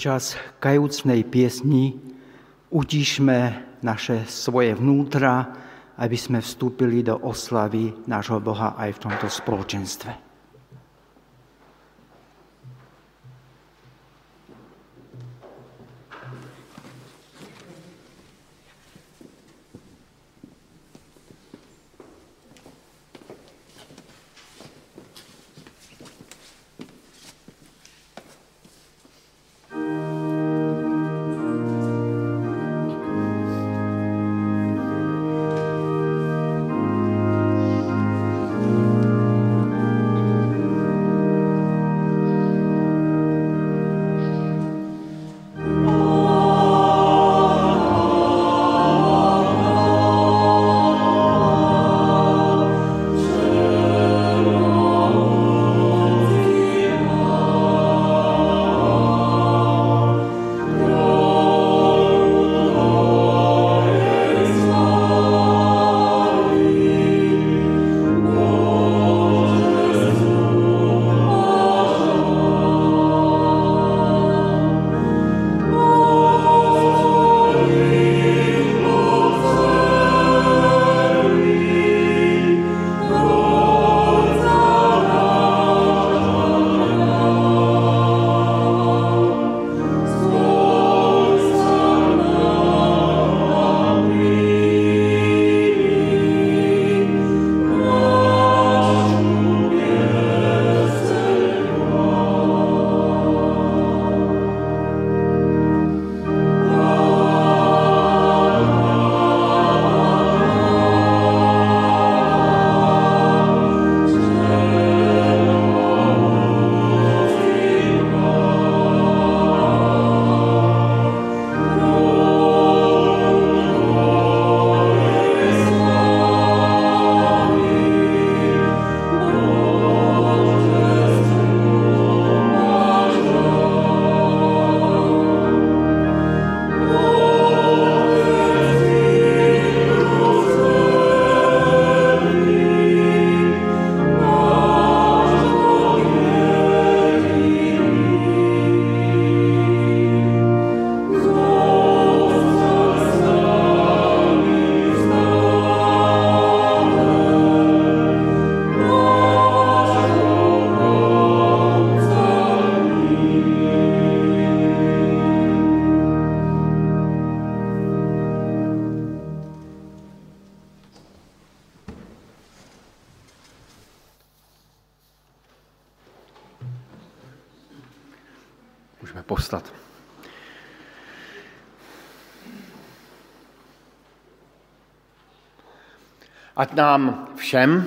počas kajúcnej piesni utíšme svoje vnútra, aby sme vstúpili do oslavy nášho Boha aj v tomto spoločenstve. Můžeme povstat. Ať nám všem,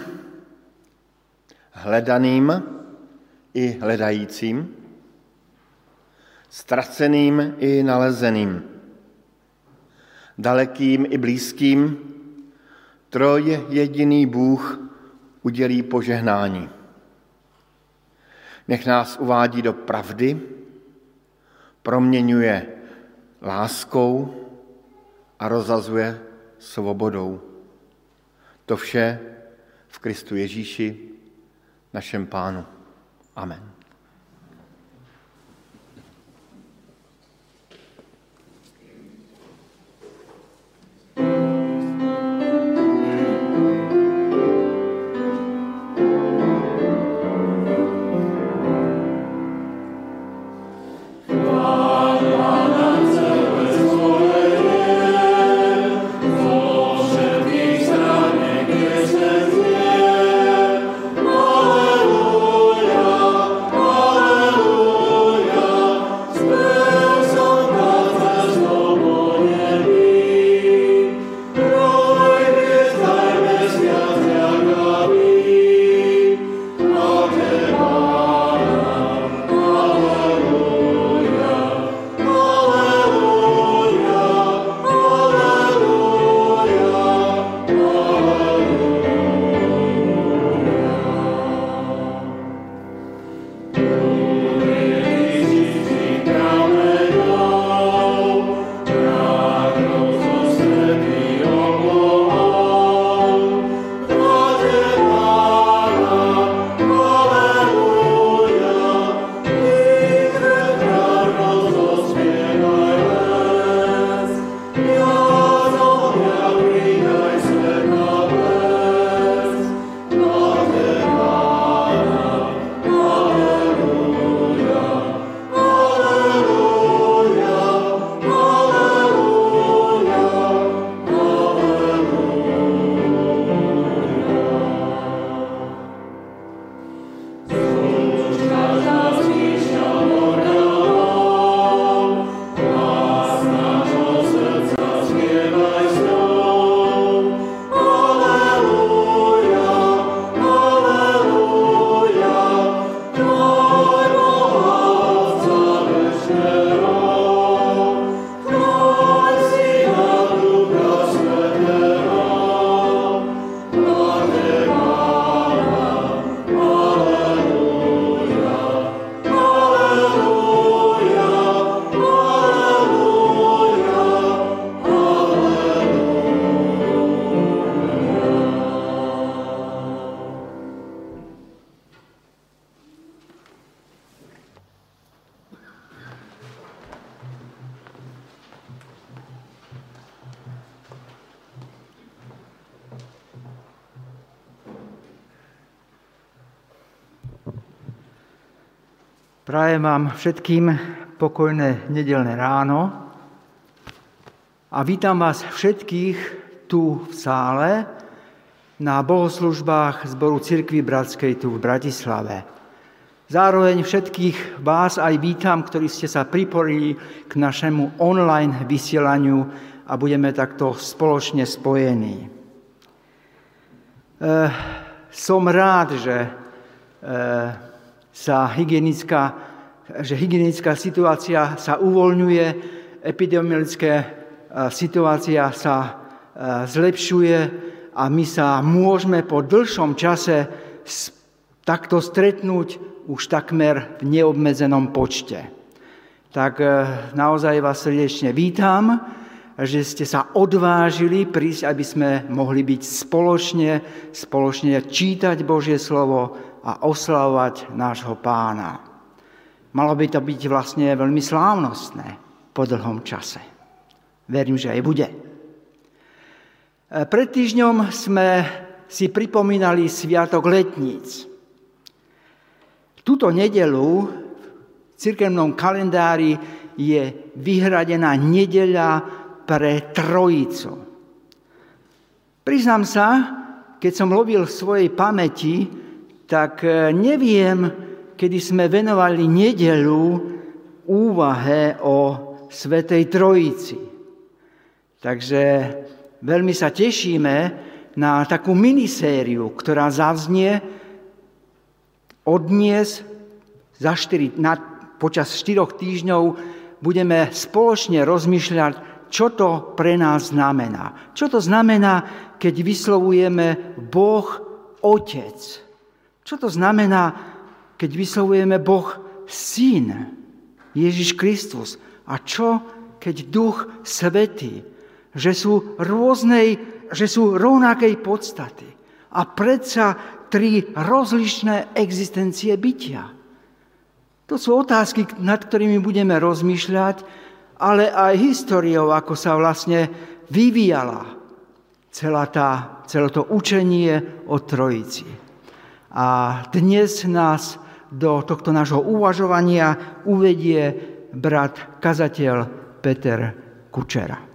hledaným i hledajícím, ztraceným i nalezeným, dalekým i blízkým, trojjediný Bůh udělí požehnání. Nech nás uvádí do pravdy, proměňuje láskou a rozazuje svobodou. To vše v Kristu Ježíši, našem Pánu. Amen. Alleluja, Prajem vám všetkým pokojné nedeľné ráno a vítam vás všetkých tu v sále na bohoslužbách zboru Cirkvi Bratskej tu v Bratislave. Zároveň všetkých vás aj vítam, ktorí ste sa pripojili k našemu online vysielaniu a budeme takto spoločne spojení. Som rád, že hygienická situácia sa uvoľňuje, epidemiologická situácia sa zlepšuje a my sa môžeme po dlhšom čase takto stretnúť už takmer v neobmedzenom počte. Tak naozaj vás srdečne vítam, že ste sa odvážili prísť, aby sme mohli byť spoločne čítať Božie slovo a oslavovať nášho Pána. Malo by to byť vlastne veľmi slávnostné po dlhom čase. Verím, že aj bude. Pred týždňom sme si pripomínali Sviatok letníc. Túto nedeľu v cirkevnom kalendári je vyhradená nedeľa pre Trojicu. Priznám sa, keď som lovil v svojej pamäti, tak neviem, kedy sme venovali nedeľu úvahe o Svätej Trojici. Takže veľmi sa tešíme na takú minisériu, ktorá zaznie dnes počas 4 týždňov budeme spoločne rozmýšľať, čo to pre nás znamená. Čo to znamená, keď vyslovujeme Boh Otec. Čo to znamená, keď vyslovujeme Boh Syn, Ježiš Kristus? A čo, keď Duch Svätý, že sú rovnakej podstaty a predsa 3 rozličné existencie bytia? To sú otázky, nad ktorými budeme rozmýšľať, ale aj históriou, ako sa vlastne vyvíjala celé to učenie o Trojici. A dnes nás do tohto nášho uvažovania uvedie brat kazateľ Peter Kučera.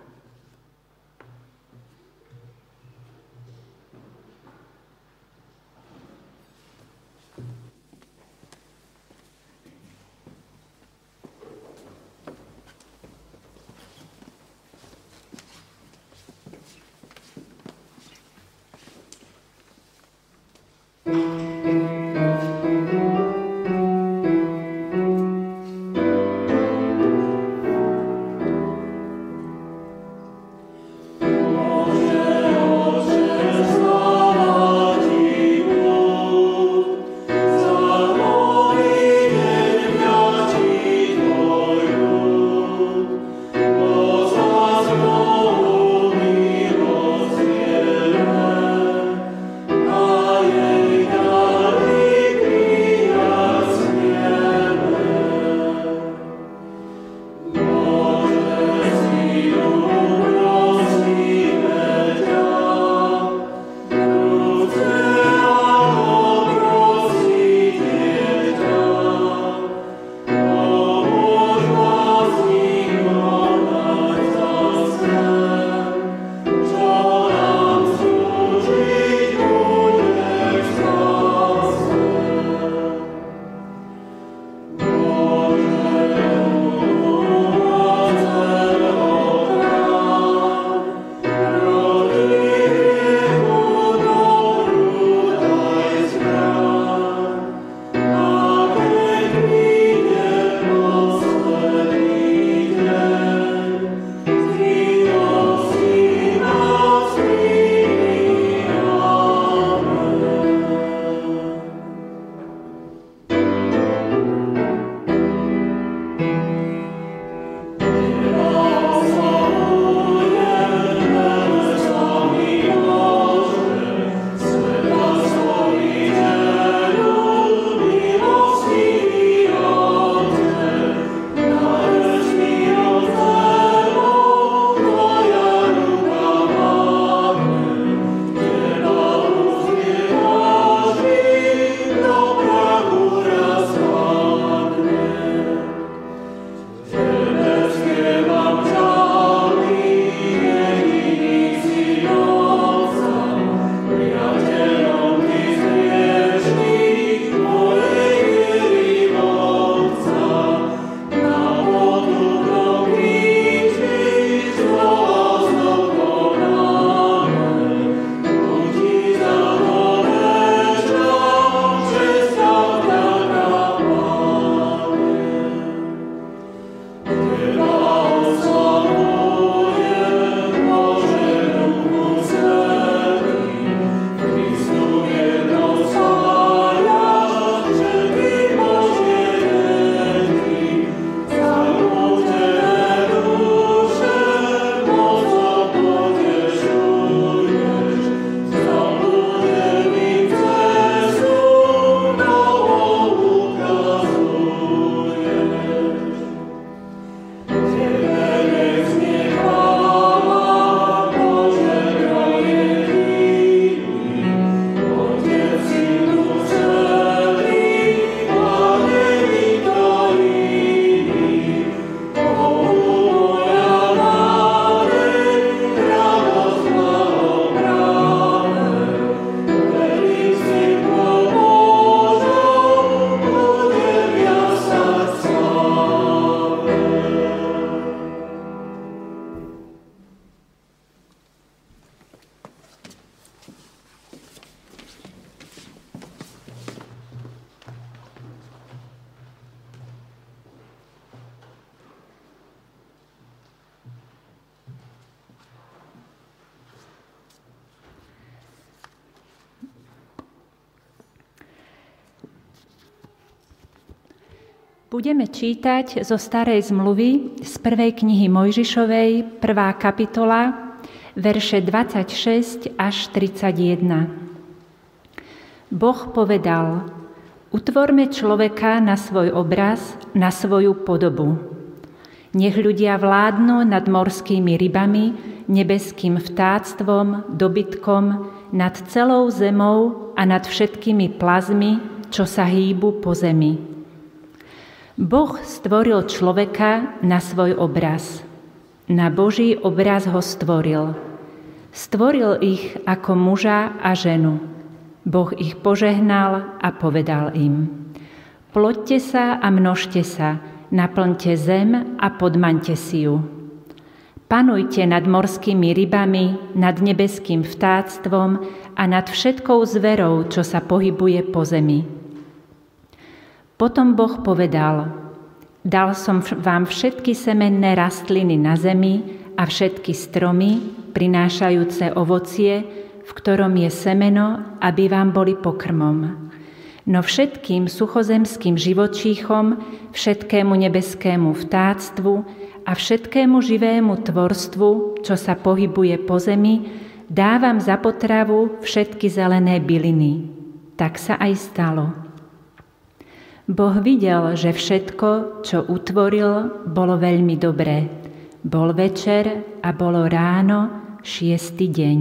Budeme čítať zo Starej zmluvy z 1. knihy Mojžišovej, 1. kapitola, verše 26 až 31. Boh povedal: Utvorme človeka na svoj obraz, na svoju podobu. Nech ľudia vládnu nad morskými rybami, nebeským vtáctvom, dobytkom, nad celou zemou a nad všetkými plazmi, čo sa hýbu po zemi. Boh stvoril človeka na svoj obraz. Na Boží obraz ho stvoril. Stvoril ich ako muža a ženu. Boh ich požehnal a povedal im: Ploďte sa a množte sa, naplňte zem a podmaňte si ju. Panujte nad morskými rybami, nad nebeským vtáctvom a nad všetkou zverou, čo sa pohybuje po zemi. Potom Boh povedal: Dal som vám všetky semenné rastliny na zemi a všetky stromy, prinášajúce ovocie, v ktorom je semeno, aby vám boli pokrmom. No všetkým suchozemským živočíchom, všetkému nebeskému vtáctvu a všetkému živému tvorstvu, čo sa pohybuje po zemi, dávam za potravu všetky zelené byliny. Tak sa aj stalo. Boh videl, že všetko, čo utvoril, bolo veľmi dobré. Bol večer a bolo ráno, 6. deň.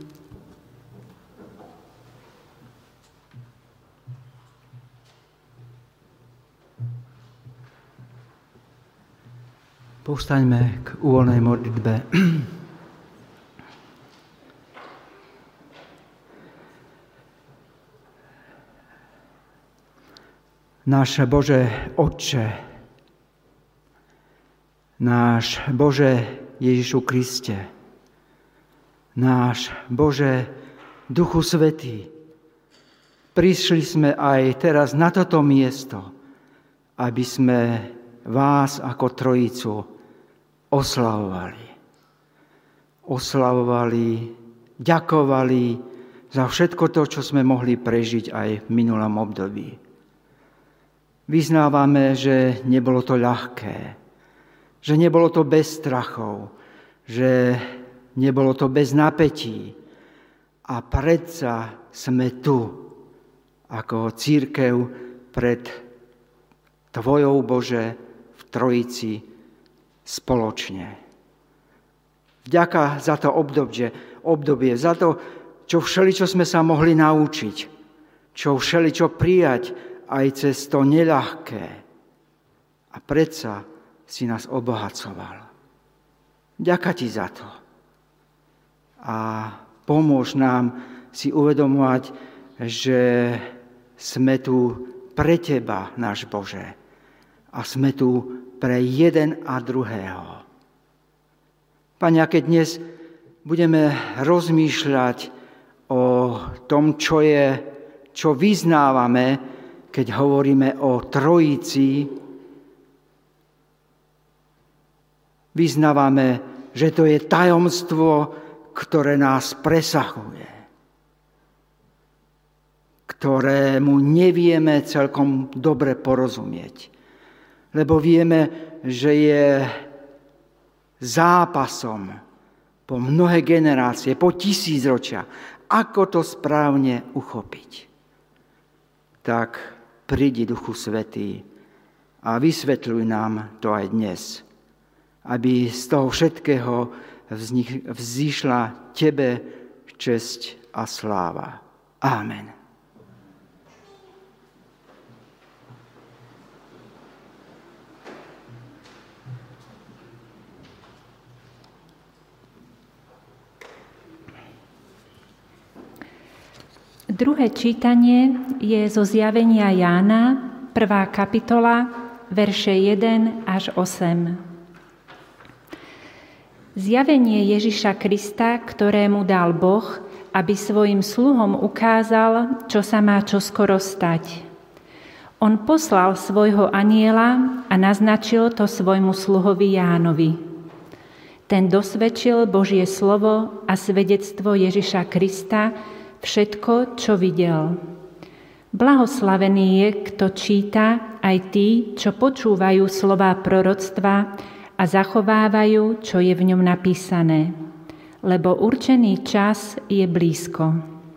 Povstaňme k úvoľnej modlitbe. Náš Bože Otče, náš Bože Ježišu Kriste, náš Bože Duchu Svätý, prišli sme aj teraz na toto miesto, aby sme vás ako Trojicu oslavovali. Ďakovali za všetko to, čo sme mohli prežiť aj v minulom období. Vyznávame, že nebolo to ľahké, že nebolo to bez strachov, že nebolo to bez napätí. A predsa sme tu, ako cirkev pred Tvojou, Bože, v Trojici spoločne. Vďaka za to obdobie, za to, čo všeličo sme sa mohli naučiť, čo všeličo prijať, aj cez to neľahké. A predsa si nás obohacoval. Ďakujem Ti za to. A pomôž nám si uvedomovať, že sme tu pre Teba, náš Bože. A sme tu pre jeden a druhého. Pane, keď dnes budeme rozmýšľať o tom, čo vyznávame, keď hovoríme o Trojici, vyznávame, že to je tajomstvo, ktoré nás presahuje, ktorému nevieme celkom dobre porozumieť. Lebo vieme, že je zápasom po mnohé generácie, po 1000 ročia, ako to správne uchopiť. Tak prídi, Duchu Svätý, a vysvetľuj nám to aj dnes, aby z toho všetkého vzýšla Tebe česť a sláva. Amen. Druhé čítanie je zo Zjavenia Jána, 1. kapitola, verše 1 až 8. Zjavenie Ježiša Krista, ktorému dal Boh, aby svojim sluhom ukázal, čo sa má čoskoro stať. On poslal svojho anjela a naznačil to svojmu sluhovi Jánovi. Ten dosvedčil Božie slovo a svedectvo Ježiša Krista, všetko, čo videl. Blahoslavený je, kto číta aj tí, čo počúvajú slová proroctva a zachovávajú, čo je v ňom napísané, lebo určený čas je blízko.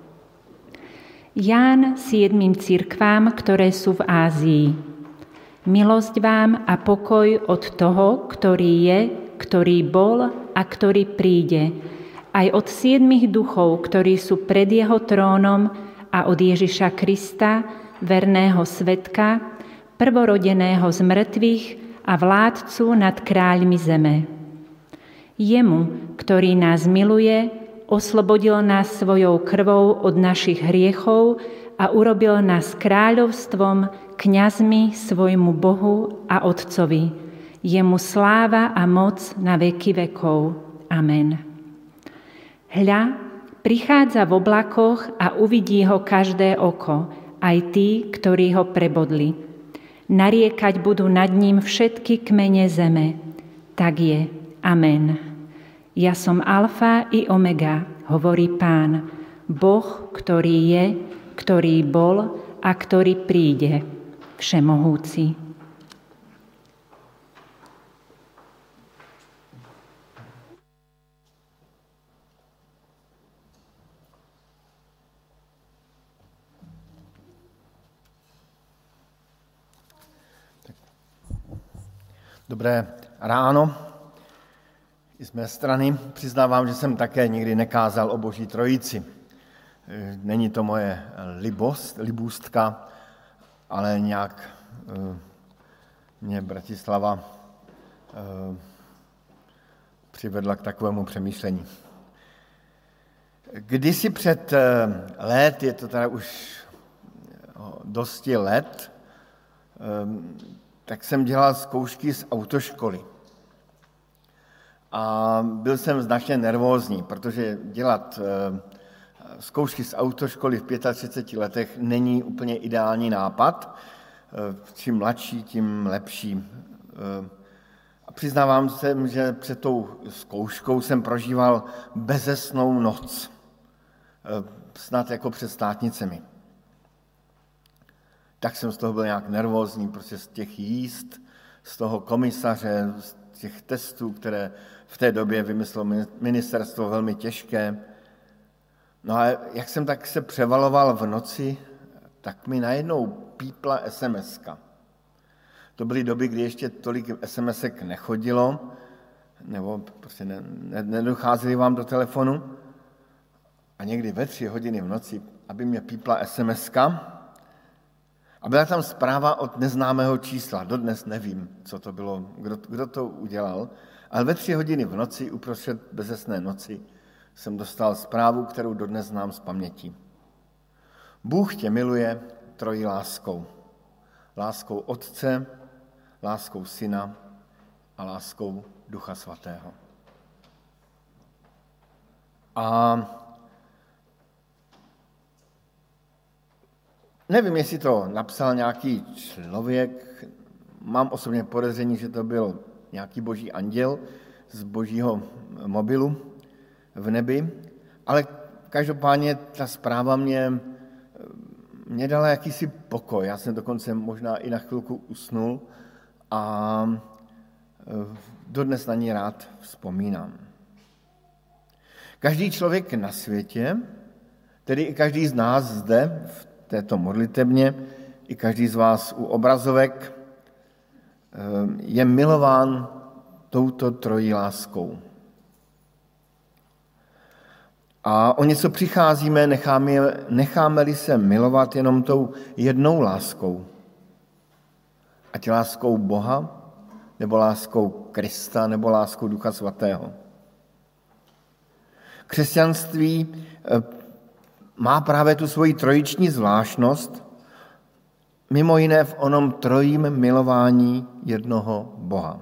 Ján 7 cirkvám, ktoré sú v Ázii. Milosť vám a pokoj od toho, ktorý je, ktorý bol a ktorý príde, aj od 7 duchov, ktorí sú pred jeho trónom, a od Ježiša Krista, verného svedka, prvorodeného z mŕtvych a vládcu nad kráľmi zeme. Jemu, ktorý nás miluje, oslobodil nás svojou krvou od našich hriechov a urobil nás kráľovstvom, kňazmi svojmu Bohu a Otcovi. Jemu sláva a moc na veky vekov. Amen. Hľa, prichádza v oblakoch a uvidí ho každé oko, aj tí, ktorí ho prebodli. Nariekať budú nad ním všetky kmene zeme. Tak je. Amen. Ja som Alfa i Omega, hovorí Pán, Boh, ktorý je, ktorý bol a ktorý príde, Všemohúci. Dobré ráno. I z mé strany přiznávám, že jsem také nikdy nekázal o Boží trojici. Není to moje libůstka, ale nějak mě Bratislava přivedla k takovému přemýšlení. Kdysi před let, je to teda už dosti let, tak jsem dělal zkoušky z autoškoly. A byl jsem značně nervózní, protože dělat zkoušky z autoškoly v 35 letech není úplně ideální nápad. Čím mladší, tím lepší. A přiznávám se, že před tou zkouškou jsem prožíval bezesnou noc. Snad jako před státnicemi. Tak jsem z toho byl nějak nervózní, prostě z těch jízd, z toho komisaře, z těch testů, které v té době vymyslelo ministerstvo velmi těžké. No a jak jsem tak se převaloval v noci, tak mi najednou pípla SMS-ka. To byly doby, kdy ještě tolik SMS-ek nechodilo, nebo prostě nedocházely vám do telefonu. A někdy ve 3 hodiny v noci, aby mě pípla SMS-ka, a byla tam zpráva od neznámého čísla. Dodnes nevím, co to bylo, kdo to udělal, ale ve 3 hodiny v noci, uprostřed bezesné noci, jsem dostal zprávu, kterou dodnes znám z paměti. Bůh tě miluje trojí láskou. Láskou Otce, láskou Syna a láskou Ducha Svatého. A nevím, jestli to napsal nějaký člověk, mám osobně podezření, že to byl nějaký boží anděl z božího mobilu v nebi, ale každopádně ta zpráva mě dala jakýsi pokoj. Já jsem dokonce možná i na chvilku usnul a dodnes na ní rád vzpomínám. Každý člověk na světě, tedy i každý z nás zde v této modlitebně, i každý z vás u obrazovek, je milován touto trojí láskou. A o něco přicházíme, necháme-li se milovat jenom tou jednou láskou. Ať láskou Boha, nebo láskou Krista, nebo láskou Ducha Svatého. Křesťanství má právě tu svoji trojiční zvláštnost, mimo jiné v onom trojím milování jednoho Boha.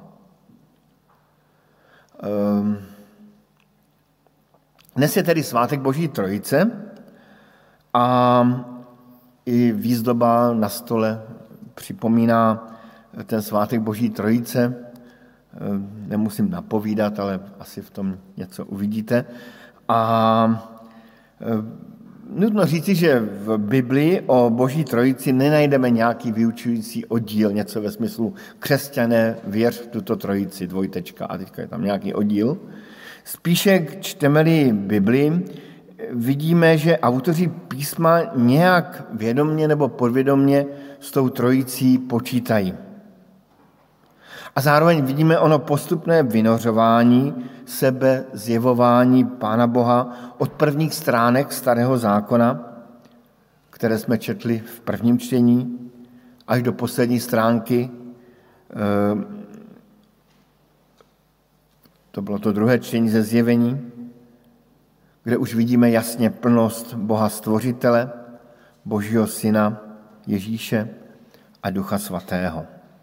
Dnes je tedy svátek Boží trojice a i výzdoba na stole připomíná ten svátek Boží trojice. Nemusím napovídat, ale asi v tom něco uvidíte. A Nutno říci, že v Biblii o Boží trojici nenajdeme nějaký vyučující oddíl, něco ve smyslu křesťané, věř v tuto trojici, dvojtečka, a teďka je tam nějaký oddíl. Spíše čteme-li Biblii, vidíme, že autoři písma nějak vědomně nebo podvědomně s tou trojicí počítají. A zároveň vidíme ono postupné vynořování sebe, zjevování Pána Boha od prvních stránek Starého zákona, které jsme četli v prvním čtení, až do poslední stránky. To bylo to druhé čtení ze Zjevení, kde už vidíme jasně plnost Boha Stvořitele, Božího Syna Ježíše a Ducha Svatého.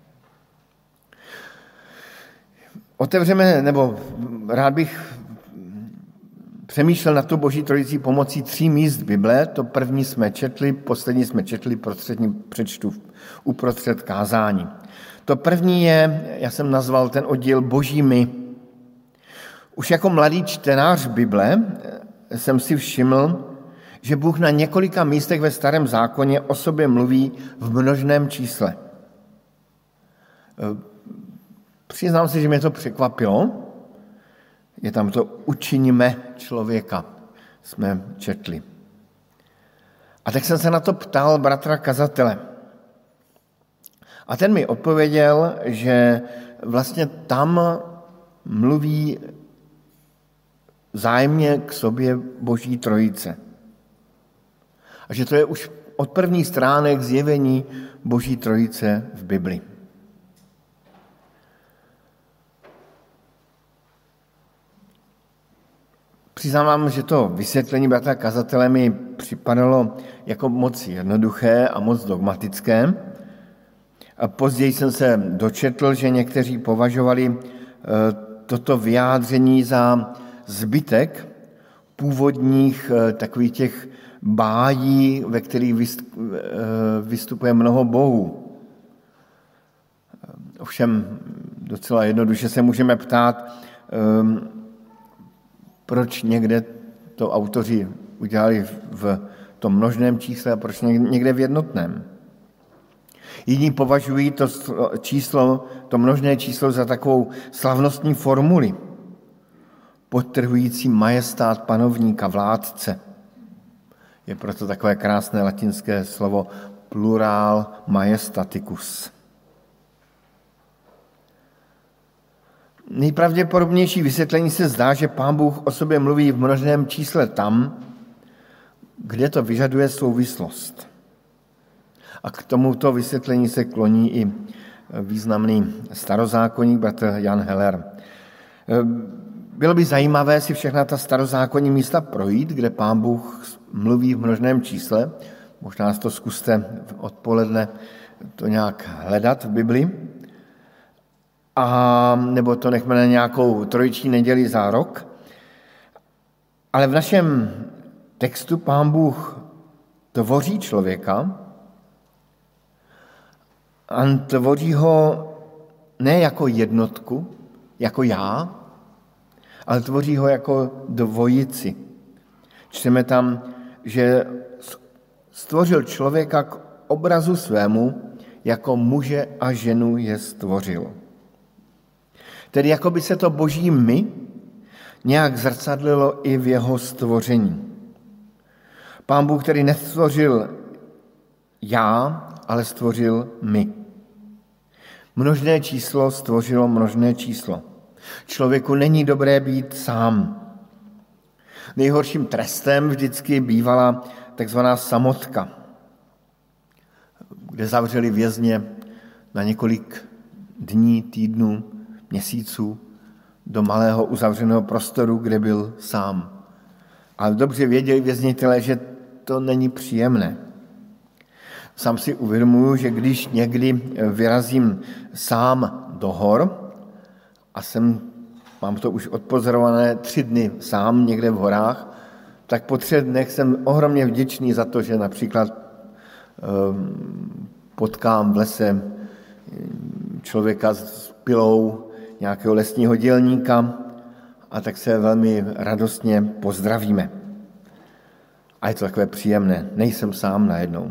Otevřeme, nebo rád bych přemýšlel na tu Boží trojicí pomocí 3 míst Bible. To první jsme četli, poslední jsme četli, přečtu uprostřed kázání. To první je, já jsem nazval ten oddíl Boží my. Už jako mladý čtenář Bible jsem si všiml, že Bůh na několika místech ve Starém zákoně o sobě mluví v množném čísle. Přiznám se, že mě to překvapilo. Je tam to učiníme člověka, jsme četli. A tak jsem se na to ptal bratra kazatele. A ten mi odpověděl, že vlastně tam mluví vzájemně k sobě Boží trojice. A že to je už od prvních stránek zjevení Boží trojice v Bibli. Přiznám, že to vysvětlení bratra kazatele mi připadalo jako moc jednoduché a moc dogmatické. A později jsem se dočetl, že někteří považovali toto vyjádření za zbytek původních takových těch bájí, ve kterých vystupuje mnoho bohů. Ovšem docela jednoduše se můžeme ptát, proč někde to autoři udělali v tom množném čísle a proč někde v jednotném. Jiní považují to číslo, to množné číslo za takovou slavnostní formuli, podtrhující majestát panovníka, vládce. Je proto takové krásné latinské slovo plural majestaticus. Nejpravděpodobnější vysvětlení se zdá, že Pán Bůh o sobě mluví v množném čísle tam, kde to vyžaduje souvislost. A k tomuto vysvětlení se kloní i významný starozákonník bratr Jan Heller. Bylo by zajímavé si všechna ta starozákonní místa projít, kde Pán Bůh mluví v množném čísle. Možná to zkuste odpoledne to nějak hledat v Bibli. A nebo to nechme na nějakou trojiční neděli za rok. Ale v našem textu Pán Bůh tvoří člověka a tvoří ho ne jako jednotku, jako já, ale tvoří ho jako dvojici. Čteme tam, že stvořil člověka k obrazu svému, jako muže a ženu je stvořil. Tedy jako by se to Boží my nějak zrcadlilo i v jeho stvoření. Pán Bůh, který nestvořil já, ale stvořil my. Množné číslo stvořilo množné číslo. Člověku není dobré být sám. Nejhorším trestem vždycky bývala takzvaná samotka, kde zavřeli vězně na několik dní, týdnů, měsíců do malého uzavřeného prostoru, kde byl sám. Ale dobře věděli věznitelé, že to není příjemné. Sám si uvědomuji, že když někdy vyrazím sám do hor a mám to už odpozorované 3 dny sám někde v horách, tak po 3 dnech jsem ohromně vděčný za to, že například potkám v lese člověka s pilou nějakého lesního dělníka a tak se velmi radostně pozdravíme. A A je to takové příjemné, nejsem sám najednou.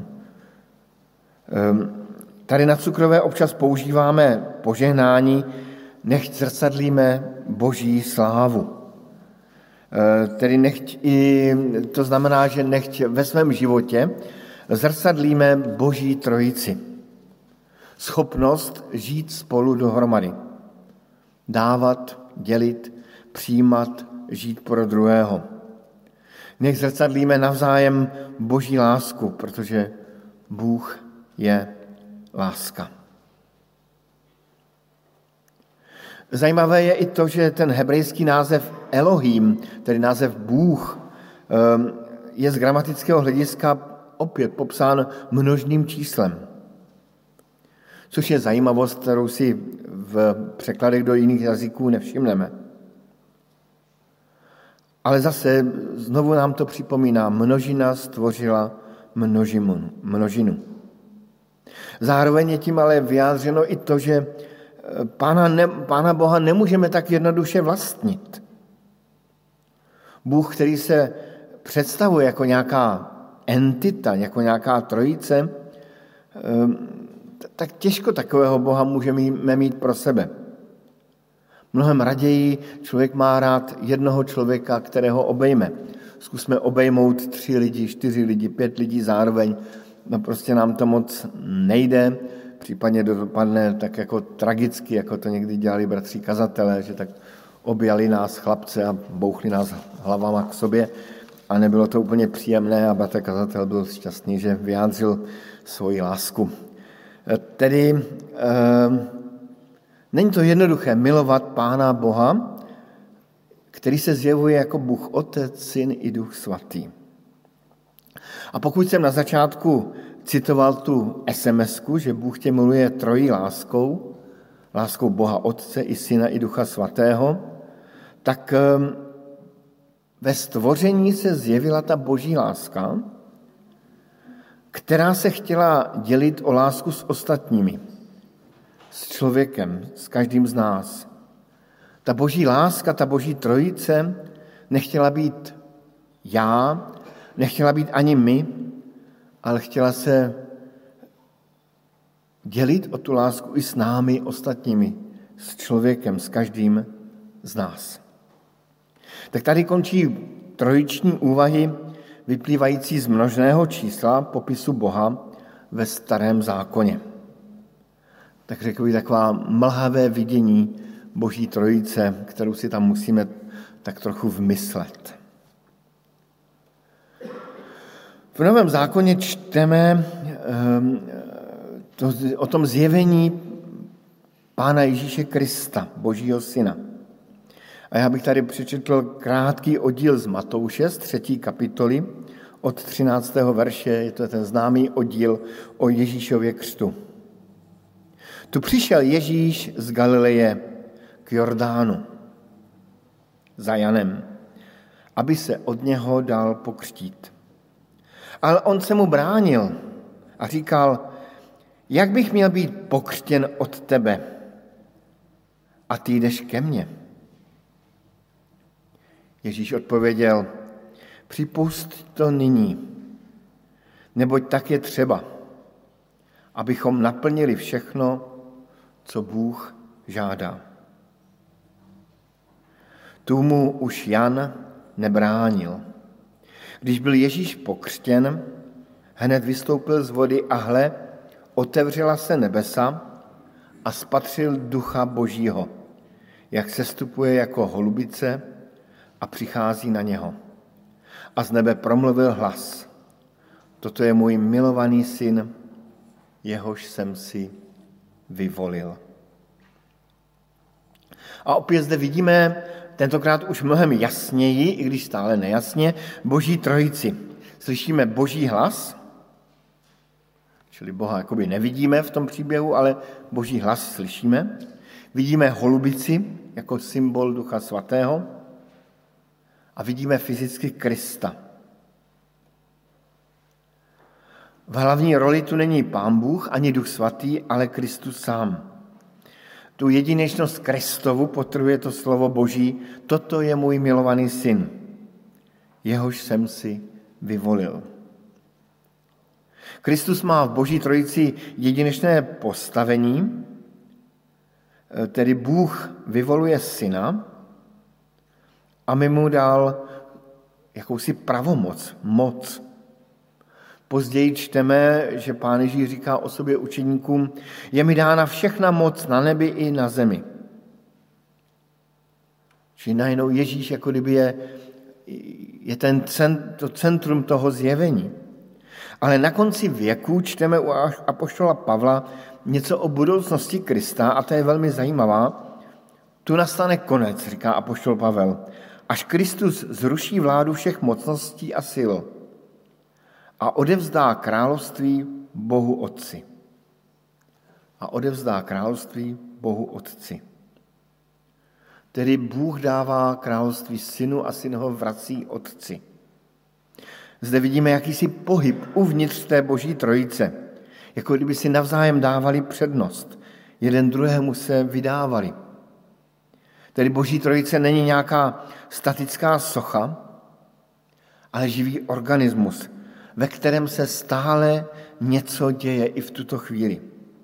Tady na Cukrové občas používáme požehnání, nechť zrcadlíme Boží slávu. Tedy to znamená, že nechť ve svém životě zrcadlíme Boží trojici. Schopnost žít spolu dohromady. Dávat, dělit, přijímat, žít pro druhého. Nech zrcadlíme navzájem Boží lásku, protože Bůh je láska. Zajímavé je i to, že ten hebrejský název Elohim, tedy název Bůh, je z gramatického hlediska opět popsán množným číslem. Což je zajímavost, kterou si v překladech do jiných jazyků nevšimneme. Ale zase znovu nám to připomíná, množina stvořila množinu. Zároveň je tím ale vyjádřeno i to, že Pána Boha nemůžeme tak jednoduše vlastnit. Bůh, který se představuje jako nějaká entita, jako nějaká trojice, tak těžko takového Boha můžeme mít pro sebe. Mnohem raději člověk má rád jednoho člověka, kterého obejme. Zkusme obejmout 3 lidi, 4 lidi, 5 lidí zároveň. No prostě nám to moc nejde. Případně dopadne tak jako tragicky, jako to někdy dělali bratří kazatelé, že tak objali nás chlapce a bouchli nás hlavama k sobě a nebylo to úplně příjemné a bratr kazatel byl šťastný, že vyjádřil svoji lásku. Tedy není to jednoduché milovat Pána Boha, který se zjevuje jako Bůh Otec, Syn i Duch Svatý. A pokud jsem na začátku citoval tu SMS-ku, že Bůh tě miluje trojí láskou, láskou Boha Otce i Syna i Ducha Svatého, tak ve stvoření se zjevila ta Boží láska, která se chtěla dělit o lásku s ostatními, s člověkem, s každým z nás. Ta Boží láska, ta Boží trojice nechtěla být já, nechtěla být ani my, ale chtěla se dělit o tu lásku i s námi ostatními, s člověkem, s každým z nás. Tak tady končí trojiční úvahy vyplývající z množného čísla popisu Boha ve Starém zákoně. Tak řekl bych taková mlhavé vidění Boží trojice, kterou si tam musíme tak trochu vmyslet. V Novém zákoně čteme o tom zjevení Pána Ježíše Krista, Božího Syna. A já bych tady přečetl krátký oddíl z Matouše, z 3. kapitoly, od 13. verše, je to ten známý oddíl o Ježíšově křtu. Tu přišel Ježíš z Galileje k Jordánu za Janem, aby se od něho dal pokřtít. Ale on se mu bránil a říkal, jak bych měl být pokřtěn od tebe a ty jdeš ke mně. Ježíš odpověděl, připusť to nyní, neboť tak je třeba, abychom naplnili všechno, co Bůh žádá. Tu mu už Jan nebránil. Když byl Ježíš pokřtěn, hned vystoupil z vody a hle, otevřela se nebesa a spatřil Ducha Božího, jak sestupuje jako holubice a přichází na něho. A z nebe promluvil hlas. Toto je můj milovaný syn, jehož jsem si vyvolil. A opět zde vidíme, tentokrát už mnohem jasněji, i když stále nejasně, Boží trojici. Slyšíme Boží hlas, čili Boha jakoby nevidíme v tom příběhu, ale Boží hlas slyšíme. Vidíme holubici jako symbol Ducha Svatého a vidíme fyzicky Krista. V hlavní roli tu není Pán Bůh ani Duch Svatý, ale Kristus sám. Tu jedinečnost Kristovu podtrhuje to slovo Boží, toto je můj milovaný syn, jehož jsem si vyvolil. Kristus má v Boží trojici jedinečné postavení, tedy Bůh vyvoluje syna a my mu dal jakousi pravomoc, moc. Později čteme, že Pán Ježíš říká o sobě učeníkům, je mi dána všechna moc na nebi i na zemi. Čili najednou Ježíš jako kdyby je to centrum toho zjevení. Ale na konci věku čteme u apoštola Pavla něco o budoucnosti Krista a to je velmi zajímavá. Tu nastane konec, říká apoštol Pavel, až Kristus zruší vládu všech mocností a sil a odevzdá království Bohu Otci. Tedy Bůh dává království synu a syn ho vrací Otci. Zde vidíme jakýsi pohyb uvnitř té Boží trojice, jako kdyby si navzájem dávali přednost. Jeden druhému se vydávali. Tedy Boží trojice není nějaká statická socha, ale živý organismus, ve kterém se stále něco děje i v tuto chvíli.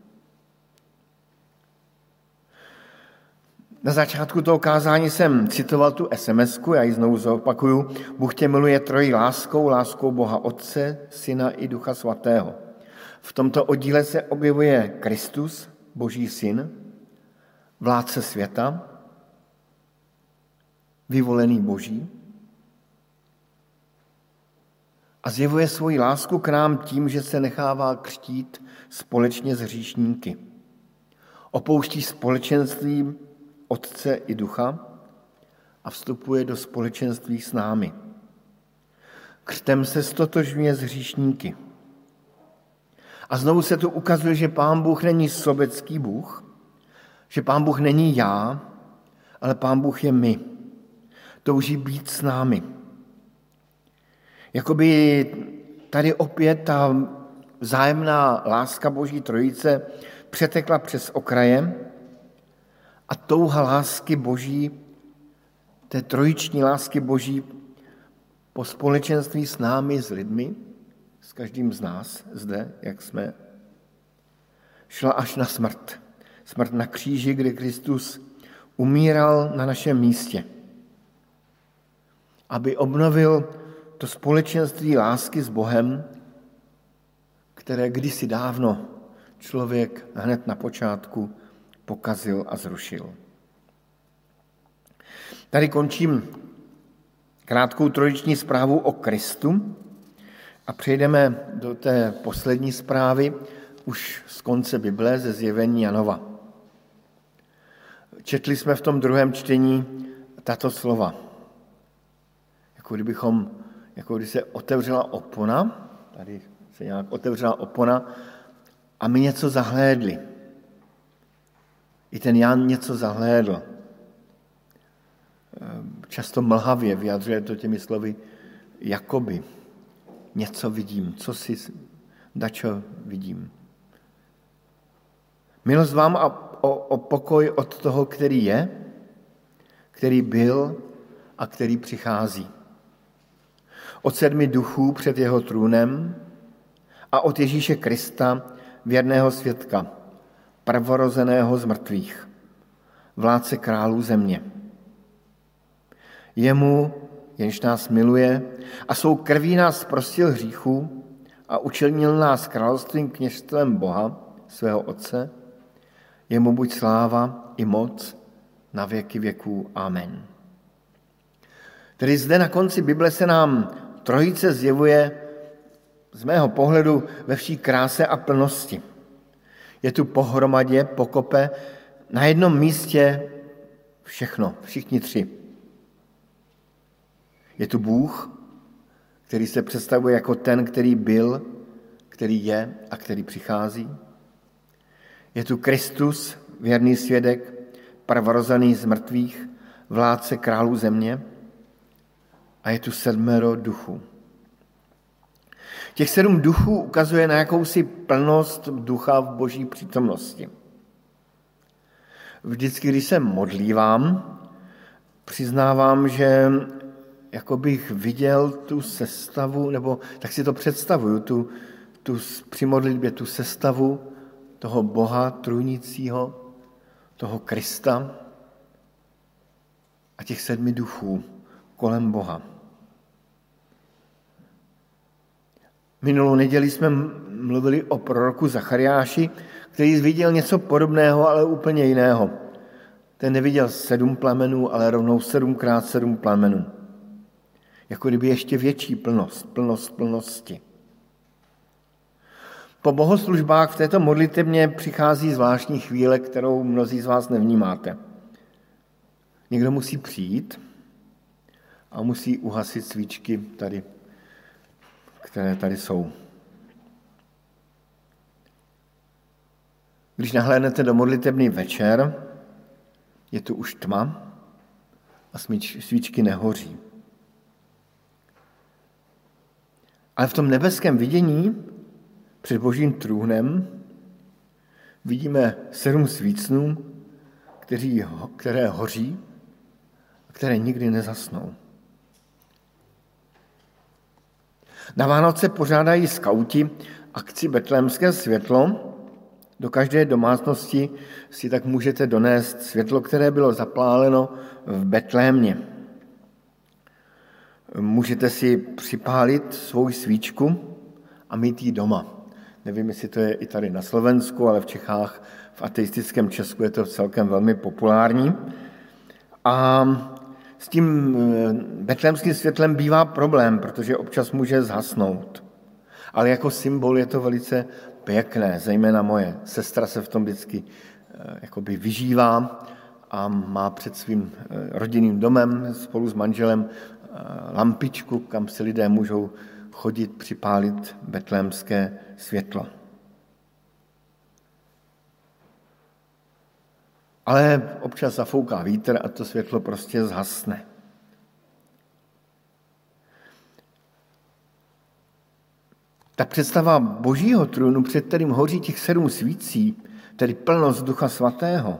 Na začátku toho kázání jsem citoval tu SMS-ku, já ji znovu zopakuju. Bůh tě miluje trojí láskou, láskou Boha Otce, Syna i Ducha Svatého. V tomto oddíle se objevuje Kristus, Boží syn, vládce světa, vyvolený Boží, a zjevuje svoji lásku k nám tím, že se nechává křtít společně s hříšníky. Opouští společenství Otce i Ducha a vstupuje do společenství s námi. Křtem se stotožňuje s hříšníky. A znovu se tu ukazuje, že Pán Bůh není sobecký Bůh, že Pán Bůh není já, ale Pán Bůh je my. Touží být s námi. Jakoby tady opět ta vzájemná láska Boží trojice přetekla přes okraje a touha lásky Boží, té trojiční lásky Boží po společenství s námi, s lidmi, s každým z nás zde, jak jsme, šla až na smrt. Smrt na kříži, kde Kristus umíral na našem místě, aby obnovil to společenství lásky s Bohem, které kdysi dávno člověk hned na počátku pokazil a zrušil. Tady končím krátkou trojiční zprávu o Kristu a přejdeme do té poslední zprávy už z konce Bible, ze zjevení Janova. Četli jsme v tom druhém čtení tato slova. Jako když se otevřela opona, tady se nějak otevřela opona a my něco zahlédli. I ten Jan něco zahlédl. Často mlhavě vyjadřuje to těmi slovy jakoby. Něco vidím, dačo vidím. Milost vám a o pokoj od toho, který je, který byl a který přichází. Od 7 duchů před jeho trůnem a od Ježíše Krista, věrného svědka, prvorozeného z mrtvých, vládce králů země. Jemu, jenž nás miluje a svou krví nás zprostil hříchů a učinil nás královstvím kněžstvem Boha, svého Otce, jemu buď sláva i moc na věky věků. Amen. Tedy zde na konci Bible se nám trojice zjevuje z mého pohledu ve vší kráse a plnosti. Je tu pohromadě, pokope, na jednom místě všechno, všichni tři. Je tu Bůh, který se představuje jako ten, který byl, který je a který přichází. Je tu Kristus, věrný svědek, prvorozený z mrtvých, vládce králů země. A je tu 7 duchů. Těch 7 duchů ukazuje na jakousi plnost ducha v Boží přítomnosti. Vždycky, když se modlívám, přiznávám, že jako bych viděl tu sestavu, nebo tak si to představuju, při modlitbě tu sestavu toho Boha trůnícího, toho Krista a těch 7 duchů kolem Boha. Minulou neděli jsme mluvili o proroku Zachariáši, který viděl něco podobného, ale úplně jiného. Ten neviděl 7 plamenů, ale rovnou 7x7 plamenů. Jako kdyby ještě větší plnost plnosti. Po bohoslužbách v této modlitebně přichází zvláštní chvíle, kterou mnozí z vás nevnímáte. Někdo musí přijít a musí uhasit svíčky tady, které tady jsou. Když nahlédnete do modlitebny večer, je tu už tma a svíčky nehoří. Ale v tom nebeském vidění před Božím trůnem vidíme 7 svícnů, které hoří a které nikdy nezasnou. Na Vánoce pořádají skauti akci Betlémské světlo. Do každé domácnosti si tak můžete donést světlo, které bylo zapáleno v Betlémě. Můžete si připálit svou svíčku a mít ji doma. Nevím, jestli to je i tady na Slovensku, ale v Čechách, v ateistickém Česku je to celkem velmi populární. A s tím betlémským světlem bývá problém, protože občas může zhasnout. Ale jako symbol je to velice pěkné, zejména moje sestra se v tom vždycky jakoby vyžívá a má před svým rodinným domem spolu s manželem lampičku, kam si lidé můžou chodit připálit betlémské světlo. Ale občas zafouká vítr a to světlo prostě zhasne. Ta představa Božího trůnu, před kterým hoří těch 7 svící, tedy plnost Ducha Svatého,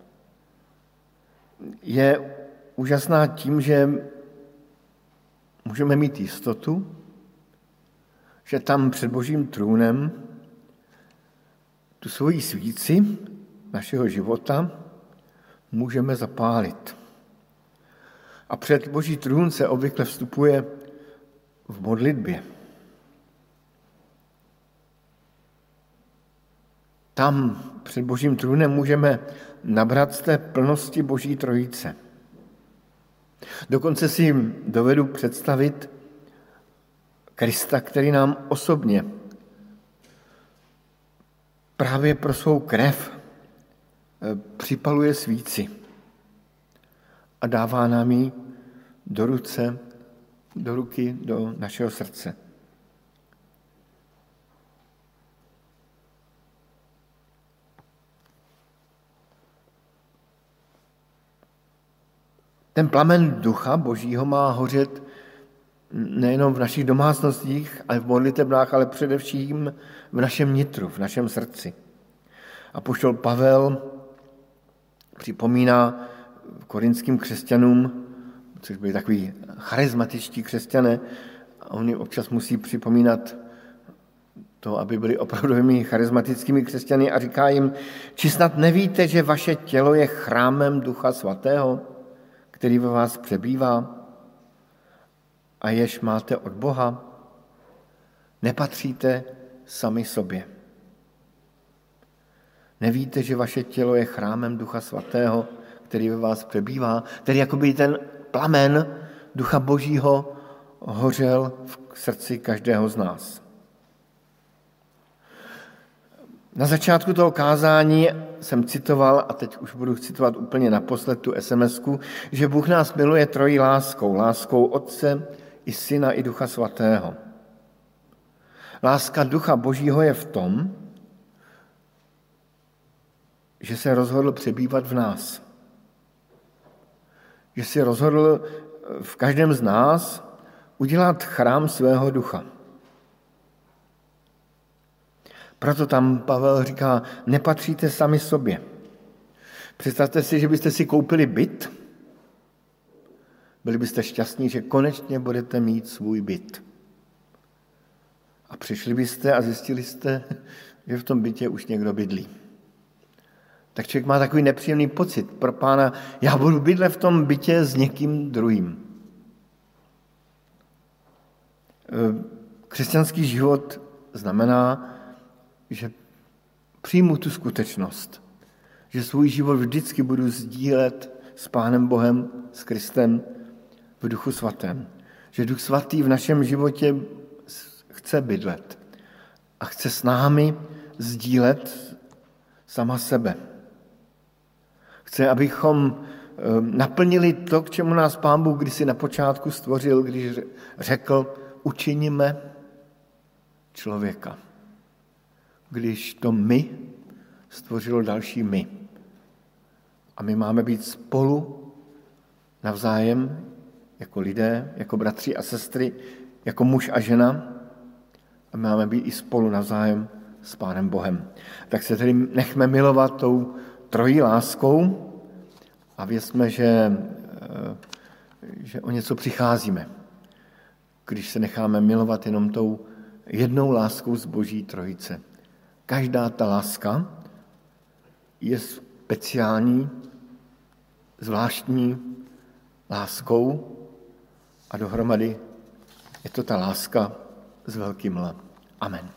je úžasná tím, že můžeme mít jistotu, že tam před Božím trůnem tu svoji svíci našeho života můžeme zapálit. A před Boží trůn se obvykle vstupuje v modlitbě. Tam před Božím trůnem můžeme nabrat z té plnosti Boží trojice. Dokonce si dovedu představit Krista, který nám osobně právě pro svou krev připaluje svíci a dává nám ji do ruky, do našeho srdce. Ten plamen Ducha Božího má hořet nejenom v našich domácnostích, ale v modlitebnách, ale především v našem nitru, v našem srdci. Apoštol Pavel připomíná korinským křesťanům, což byli takový charismatičtí křesťané, a oni občas musí připomínat to, aby byli opravdovými charismatickými křesťany, a říká jim, či snad nevíte, že vaše tělo je chrámem Ducha Svatého, který ve vás přebývá a jež máte od Boha? Nepatříte sami sobě. Nevíte, že vaše tělo je chrámem Ducha Svatého, který ve vás přebývá? Tedy jakoby ten plamen Ducha Božího hořel v srdci každého z nás. Na začátku toho kázání jsem citoval, a teď už budu citovat úplně naposled tu SMS-ku, že Bůh nás miluje trojí láskou. Láskou Otce i Syna i Ducha Svatého. Láska Ducha Božího je v tom, že se rozhodl přebývat v nás. Že si rozhodl v každém z nás udělat chrám svého ducha. Proto tam Pavel říká, nepatříte sami sobě. Představte si, že byste si koupili byt, Byli byste šťastní, že konečně budete mít svůj byt. A přišli byste a zjistili jste, že v tom bytě už někdo bydlí. Tak člověk má takový nepříjemný pocit pro Pána, já budu bydlet v tom bytě s někým druhým. Křesťanský život znamená, že přijmu tu skutečnost, že svůj život vždycky budu sdílet s Pánem Bohem, s Kristem v Duchu Svatém. Že Duch Svatý v našem životě chce bydlet a chce s námi sdílet sama sebe. Chce, abychom naplnili to, k čemu nás Pán Bůh kdysi na počátku stvořil, když řekl, učiníme člověka. Když to my stvořilo další my. A my máme být spolu navzájem jako lidé, jako bratři a sestry, jako muž a žena. A máme být i spolu navzájem s Pánem Bohem. Tak se tedy nechme milovat tou trojí láskou a věřme, že o něco přicházíme, když se necháme milovat jenom tou jednou láskou z Boží trojice. Každá ta láska je speciální, zvláštní láskou a dohromady je to ta láska s velkým L. Amen.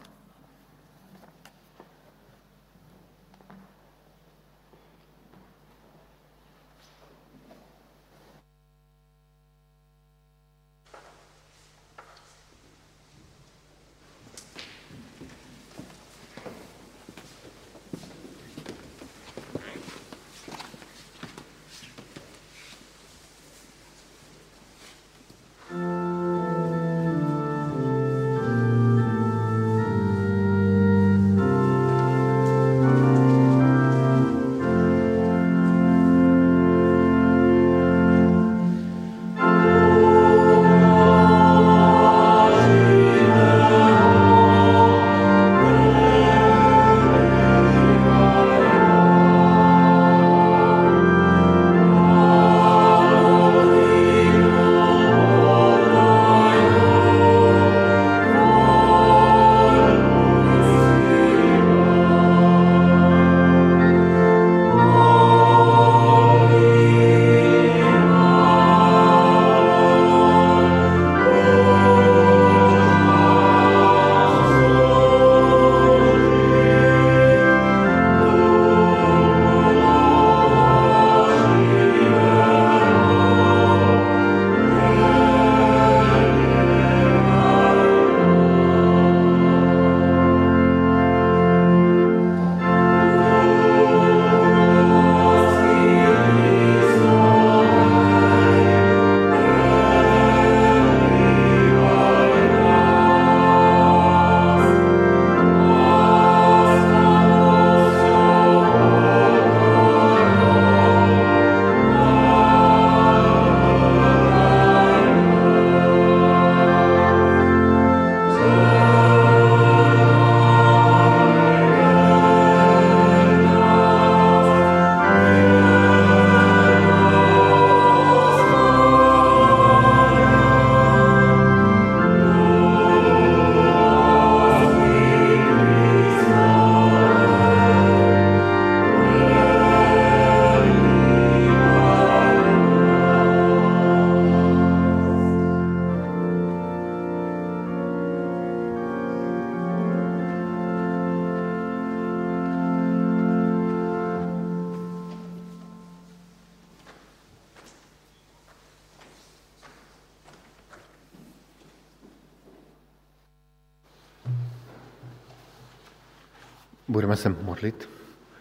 Budeme se modlit.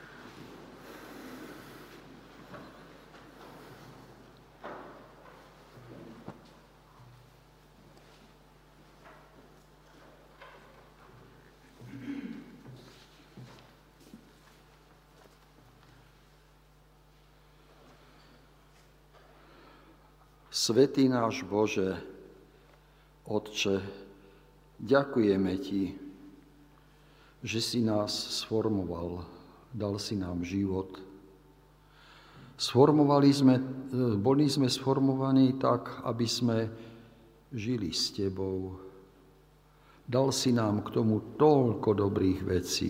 Svätý náš Bože, Otče, ďakujeme Ti, že si nás sformoval, dal si nám život. Boli sme sformovaní tak, aby sme žili s Tebou. Dal si nám k tomu toľko dobrých vecí.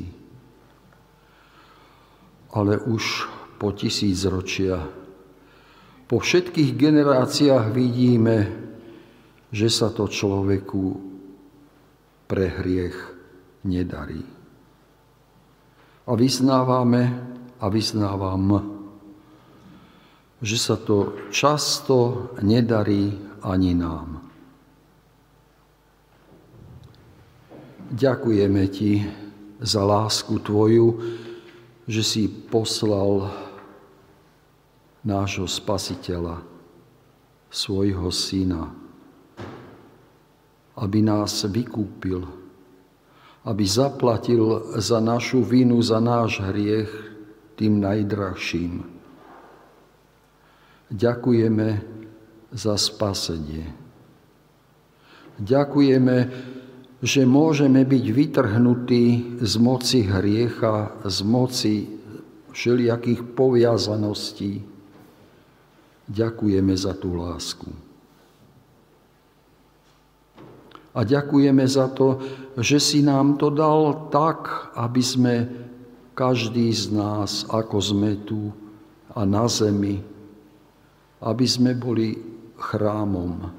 Ale už po 1000 ročia, po všetkých generáciách vidíme, že sa to človeku pre hriech nedarí. A vyznávam, že sa to často nedarí ani nám. Ďakujeme Ti za lásku Tvoju, že si poslal nášho Spasiteľa, svojho Syna, aby nás vykúpil, aby zaplatil za našu vinu, za náš hriech tým najdrahším. Ďakujeme za spasenie. Ďakujeme, že môžeme byť vytrhnutí z moci hriecha, z moci všelijakých poviazaností. Ďakujeme za tú lásku. A ďakujeme za to, že si nám to dal tak, aby sme, každý z nás, ako sme tu a na zemi, aby sme boli chrámom.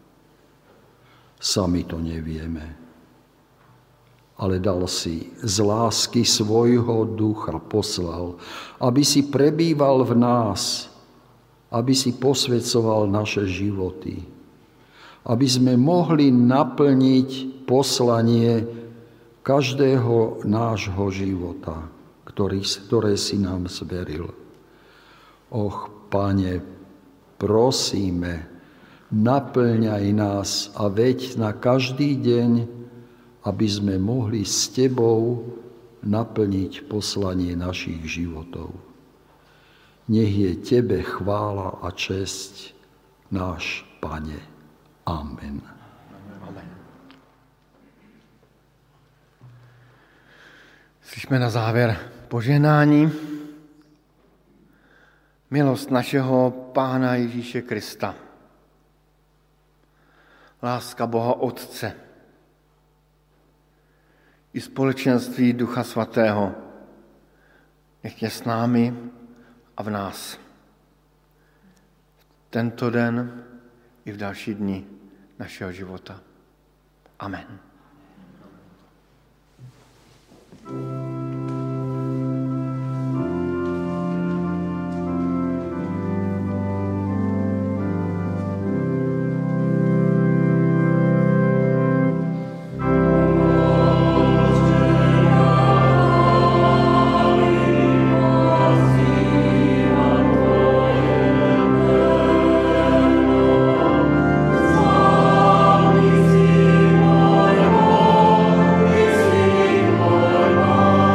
Sami to nevieme. Ale dal si z lásky svojho ducha, poslal, aby si prebýval v nás, aby si posväcoval naše životy, aby sme mohli naplniť poslanie každého nášho života, ktoré si nám zveril. Och, Pane, prosíme, naplňaj nás a veď na každý deň, aby sme mohli s Tebou naplniť poslanie našich životov. Nech je Tebe chvála a česť, náš Pane. Amen. Amen. Slyšme na závěr požehnání. Milost našeho Pána Ježíše Krista, láska Boha Otce i společenství Ducha Svatého nech je s námi a v nás. Tento den i v další dni našeho života. Amen. Amen.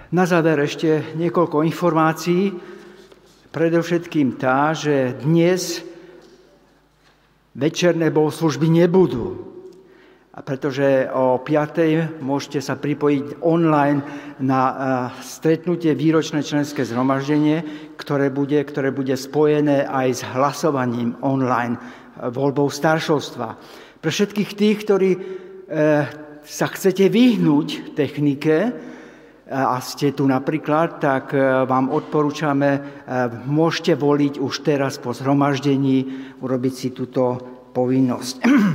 Na záver ešte niekoľko informácií. Predovšetkým tá, že dnes večerné bohoslužby nebudú. A pretože o 5:00 môžete sa pripojiť online na stretnutie výročné členské zhromaždenie, ktoré bude spojené aj s hlasovaním online, voľbou staršovstva. Pre všetkých tých, ktorí sa chcete vyhnúť technike, a ste tu napríklad, tak vám odporúčame, môžete voliť už teraz po zhromaždení, urobiť si túto povinnosť.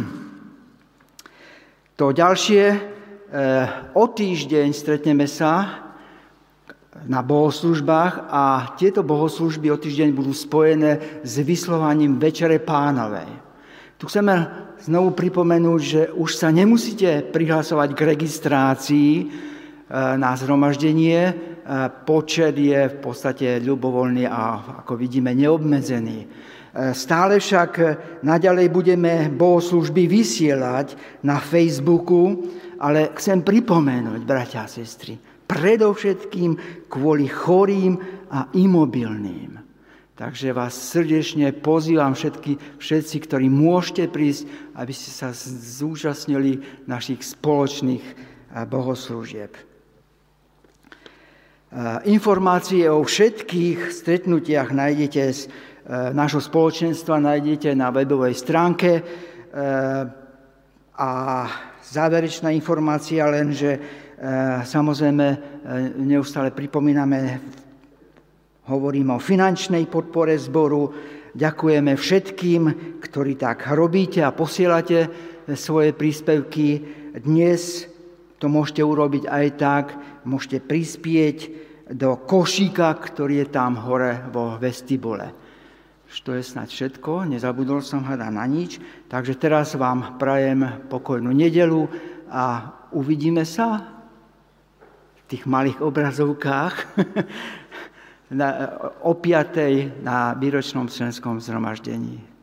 To ďalšie, o týždeň stretneme sa na bohoslužbách a tieto bohoslužby o týždeň budú spojené s vyslovaním Večere Pánovej. Tu chceme znovu pripomenúť, že už sa nemusíte prihlasovať k registrácii na zhromaždenie. Počet je v podstate ľubovoľný a ako vidíme neobmedzený. Stále však naďalej budeme bohoslužby vysielať na Facebooku, ale chcem pripomenúť, bratia a sestry, predovšetkým kvôli chorým a imobilným. Takže vás srdečne pozývam všetci, ktorí môžete prísť, aby ste sa zúčastnili našich spoločných bohoslúžieb. Informácie o všetkých stretnutiach nájdete z nášho spoločenstva, nájdete na webovej stránke. A záverečná informácia len, že samozrejme neustále pripomíname, hovoríme o finančnej podpore zboru. Ďakujeme všetkým, ktorí tak robíte a posielate svoje príspevky. Dnes to môžete urobiť aj tak, môžete prispieť do košíka, ktorý je tam hore vo vestibule. To je snáď všetko, nezabudol som hľadať na nič, takže teraz vám prajem pokojnú nedeľu a uvidíme sa v tých malých obrazovkách o 5:00 na výročnom členskom zhromaždení.